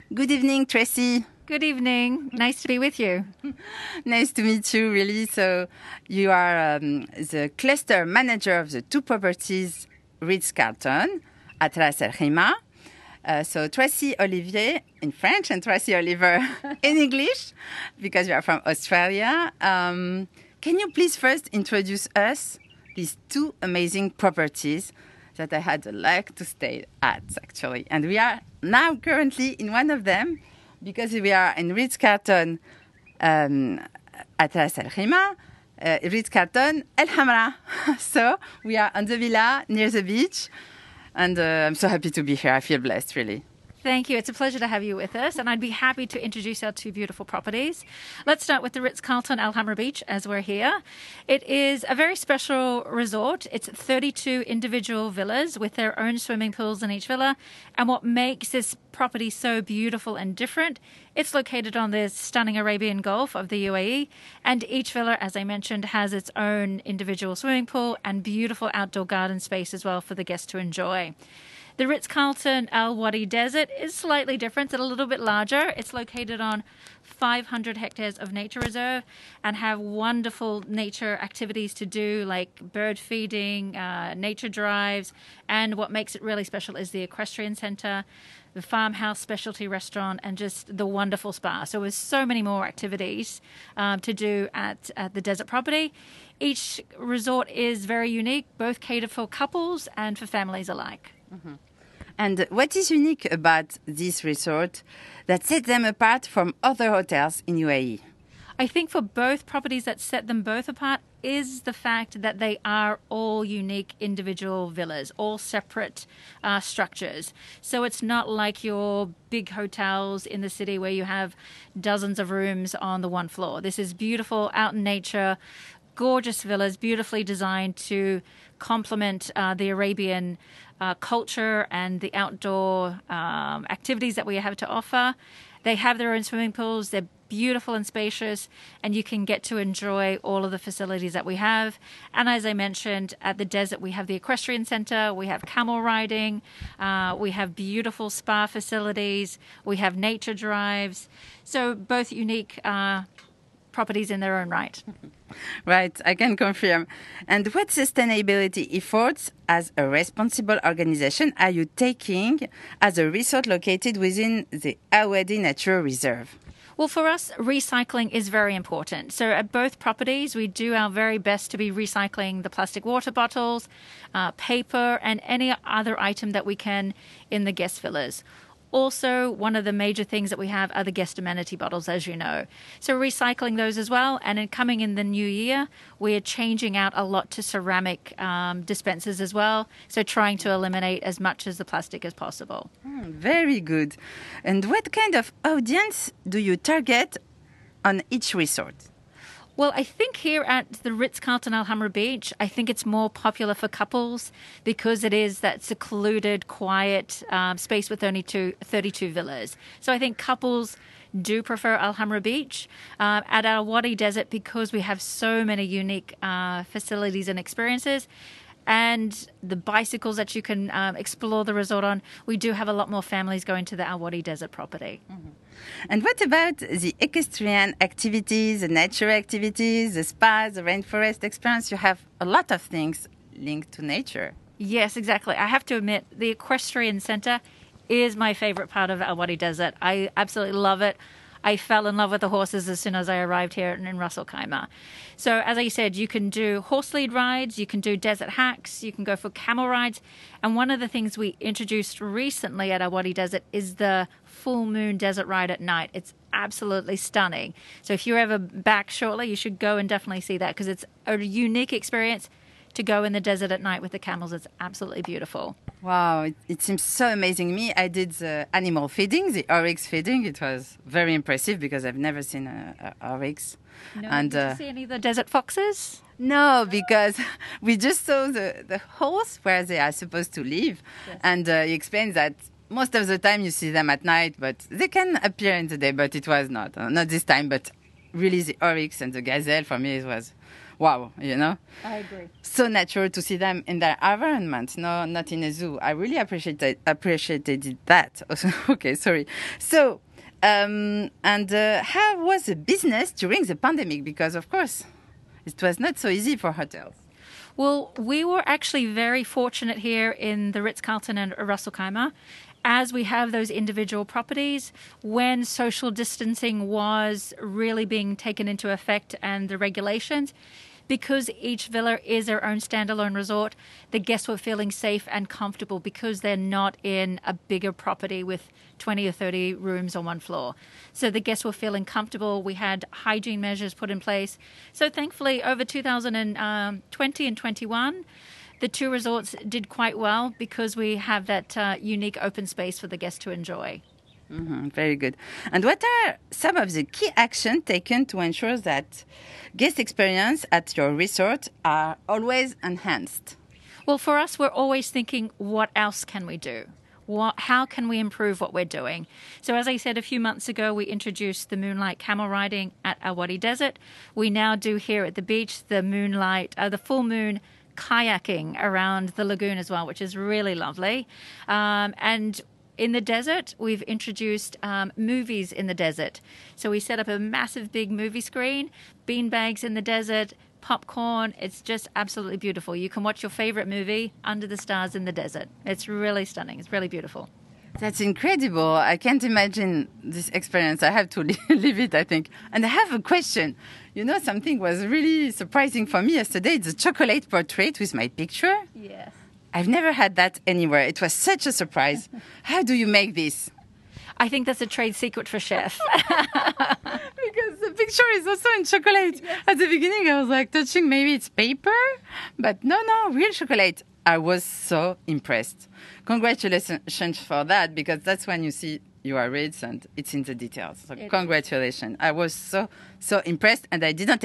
Good evening, Tracy. Good evening. Nice to be with you. Nice to meet you, really. So you are the cluster manager of the two properties, Ritz-Carlton, at Ras Al Khaimah. So Tracy Olivier in French and Tracy Oliver in English, because you are from Australia. Can you please first introduce us these two amazing properties that I had the luck to stay at, actually. And we are now currently in one of them, because we are in Ritz-Carlton at Ras Al Khaimah, Ritz-Carlton El Hamra. So we are on the villa near the beach, and I'm so happy to be here. I feel blessed, really. Thank you. It's a pleasure to have you with us, and I'd be happy to introduce our two beautiful properties. Let's start with the Ritz-Carlton Al Hamra Beach, as we're here. It is a very special resort. It's 32 individual villas with their own swimming pools in each villa, and what makes this property so beautiful and different, it's located on the stunning Arabian Gulf of the UAE, and each villa, as I mentioned, has its own individual swimming pool and beautiful outdoor garden space as well for the guests to enjoy. The Ritz-Carlton Al Wadi Desert is slightly different. It's a little bit larger. It's located on 500 hectares of nature reserve and have wonderful nature activities to do, like bird feeding, nature drives, and what makes it really special is the equestrian center, the farmhouse specialty restaurant, and just the wonderful spa. So there's so many more activities to do at the desert property. Each resort is very unique, both cater for couples and for families alike. Mm-hmm. And what is unique about this resort that sets them apart from other hotels in UAE? I think for both properties that set them both apart is the fact that they are all unique individual villas, all separate structures. So it's not like your big hotels in the city where you have dozens of rooms on the one floor. This is beautiful, out in nature, gorgeous villas, beautifully designed to complement the Arabian culture and the outdoor activities that we have to offer. They have their own swimming pools. They're beautiful and spacious, and you can get to enjoy all of the facilities that we have. And as I mentioned, at the desert, we have the equestrian center, we have camel riding, we have beautiful spa facilities, we have nature drives. So both unique properties in their own right. Right, I can confirm. And what sustainability efforts as a responsible organization are you taking as a resort located within the Al Wadi Nature Reserve? Well, for us, recycling is very important. So at both properties, we do our very best to be recycling the plastic water bottles, paper, and any other item that we can in the guest villas. Also, one of the major things that we have are the guest amenity bottles, as you know. So recycling those as well. And coming in the new year, we are changing out a lot to ceramic dispensers as well. So trying to eliminate as much as the plastic as possible. Very good. And what kind of audience do you target on each resort? Well, I think here at the Ritz-Carlton Al Hamra Beach, I think it's more popular for couples because it is that secluded, quiet space with only 32 villas. So I think couples do prefer Al Hamra Beach. At Al Wadi Desert, because we have so many unique facilities and experiences, and the bicycles that you can explore the resort on, we do have a lot more families going to the Al Wadi Desert property. Mm-hmm. And what about the equestrian activities, the nature activities, the spas, the rainforest experience? You have a lot of things linked to nature. Yes, exactly. I have to admit, the equestrian center is my favorite part of Al Wadi Desert. I absolutely love it. I fell in love with the horses as soon as I arrived here in Ras Al Khaimah. So as I said, you can do horse lead rides, you can do desert hacks, you can go for camel rides. And one of the things we introduced recently at Al Wadi Desert is the full moon desert ride at night. It's absolutely stunning. So if you're ever back shortly, you should go and definitely see that because it's a unique experience to go in the desert at night with the camels. It's absolutely beautiful. Wow, it seems so amazing. Me, I did the animal feeding, the oryx feeding. It was very impressive because I've never seen an oryx. No, did you see any of the desert foxes? No, because we just saw the holes where they are supposed to live. Yes. And he explains that most of the time you see them at night, but they can appear in the day, but it was not this time. But really the oryx and the gazelle, for me, it was wow, you know. I agree. So natural to see them in their environment, no, not in a zoo. I really appreciated that. Okay, sorry. So, how was the business during the pandemic? Because of course, it was not so easy for hotels. Well, we were actually very fortunate here in the Ritz-Carlton and Ras Al Khaimah, as we have those individual properties. When social distancing was really being taken into effect and the regulations, because each villa is their own standalone resort, the guests were feeling safe and comfortable because they're not in a bigger property with 20 or 30 rooms on one floor. So the guests were feeling comfortable. We had hygiene measures put in place. So thankfully, over 2020 and 21, the two resorts did quite well because we have that unique open space for the guests to enjoy. Very good. And what are some of the key actions taken to ensure that guest experience at your resort are always enhanced? Well, for us, we're always thinking, what else can we do? How can we improve what we're doing? So as I said a few months ago, we introduced the moonlight camel riding at Al Wadi Desert. We now do here at the beach the full moon kayaking around the lagoon as well, which is really lovely. And in the desert, we've introduced movies in the desert. So we set up a massive big movie screen, beanbags in the desert, popcorn. It's just absolutely beautiful. You can watch your favorite movie under the stars in the desert. It's really stunning. It's really beautiful. That's incredible. I can't imagine this experience. I have to live it, I think. And I have a question. You know, something was really surprising for me yesterday. It's a chocolate portrait with my picture. Yes. I've never had that anywhere. It was such a surprise. How do you make this? I think that's a trade secret for chef. Because the picture is also in chocolate. Yes. At the beginning, I was like touching maybe it's paper, but no, real chocolate. I was so impressed. Congratulations for that, because that's when you see you are Ritz and it's in the details. So congratulations. I was so impressed, and I didn't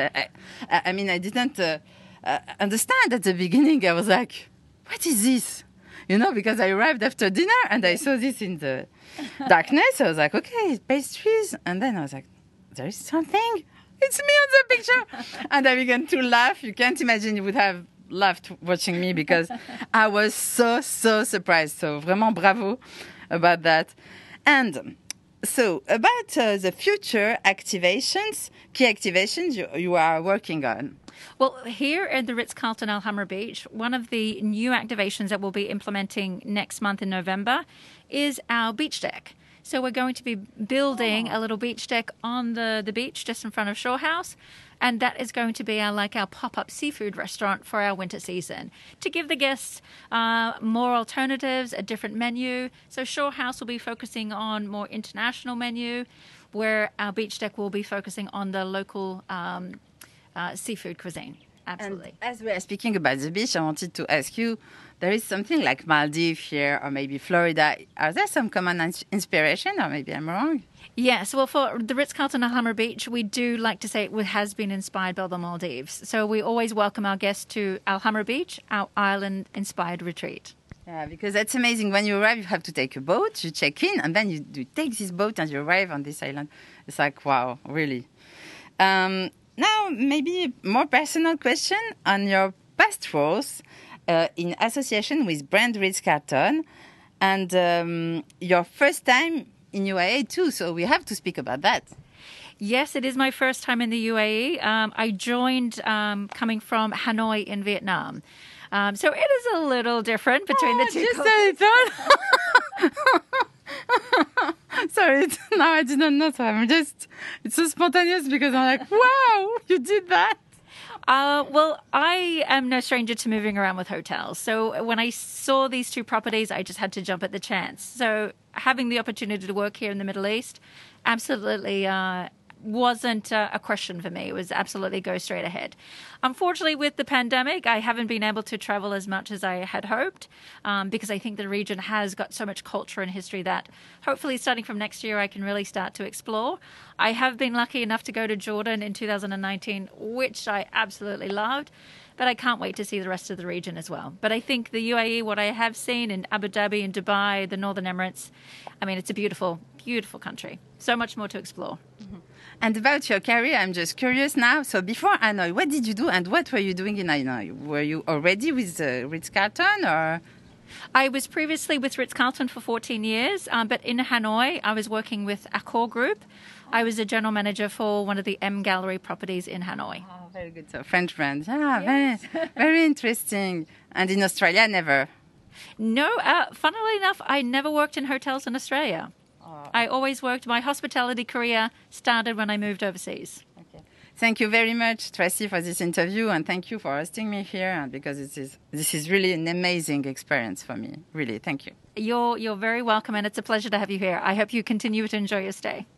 I didn't understand at the beginning. I was like, what is this? You know, because I arrived after dinner and I saw this in the darkness. I was like, okay, pastries. And then I was like, there is something. It's me on the picture. And I began to laugh. You can't imagine you would have laughed watching me, because I was so surprised. So vraiment bravo about that. And so about the future activations, key activations you are working on. Well, here at the Ritz-Carlton Al Hamra Beach, one of the new activations that we'll be implementing next month in November is our beach deck. So we're going to be building a little beach deck on the beach just in front of Shore House. And that is going to be our pop-up seafood restaurant for our winter season, to give the guests more alternatives, a different menu. So Shore House will be focusing on more international menu, where our beach deck will be focusing on the local seafood cuisine. Absolutely. And as we are speaking about the beach, I wanted to ask you, there is something like Maldives here, or maybe Florida. Are there some common inspiration, or maybe I'm wrong? Yes, well, for the Ritz-Carlton Al Hamra Beach, we do like to say it has been inspired by the Maldives. So we always welcome our guests to Al Hamra Beach, our island-inspired retreat. Yeah, because that's amazing. When you arrive, you have to take a boat, you check in, and then you take this boat and you arrive on this island. It's like, wow, really. Now, maybe a more personal question on your past roles in association with brand Ritz-Carlton, and your first time in UAE too, so we have to speak about that. Yes, it is my first time in the UAE. I joined coming from Hanoi in Vietnam. So it is a little different between the two cultures. Sorry, now I didn't know, so it's so spontaneous, because I'm like, wow, you did that. Well, I am no stranger to moving around with hotels. So when I saw these two properties, I just had to jump at the chance. So having the opportunity to work here in the Middle East absolutely wasn't a question for me. It was absolutely go straight ahead. Unfortunately, with the pandemic, I haven't been able to travel as much as I had hoped, because I think the region has got so much culture and history that hopefully starting from next year, I can really start to explore. I have been lucky enough to go to Jordan in 2019, which I absolutely loved. but I can't wait to see the rest of the region as well. But I think the UAE, what I have seen in Abu Dhabi and Dubai, the Northern Emirates, I mean, it's a beautiful, beautiful country. So much more to explore. And about your career, I'm just curious now. So before Hanoi, what did you do and what were you doing in Hanoi? Were you already with Ritz-Carlton or? I was previously with Ritz-Carlton for 14 years, but in Hanoi, I was working with Accor Group. I was a general manager for one of the M Gallery properties in Hanoi. Oh, very good. So French brand. Yeah, yes. Very interesting. And in Australia, never? No, funnily enough, I never worked in hotels in Australia. I always worked, my hospitality career started when I moved overseas. Okay. Thank you very much, Tracy, for this interview, and thank you for hosting me here, because this is really an amazing experience for me. Really, thank you. You're very welcome, and it's a pleasure to have you here. I hope you continue to enjoy your stay.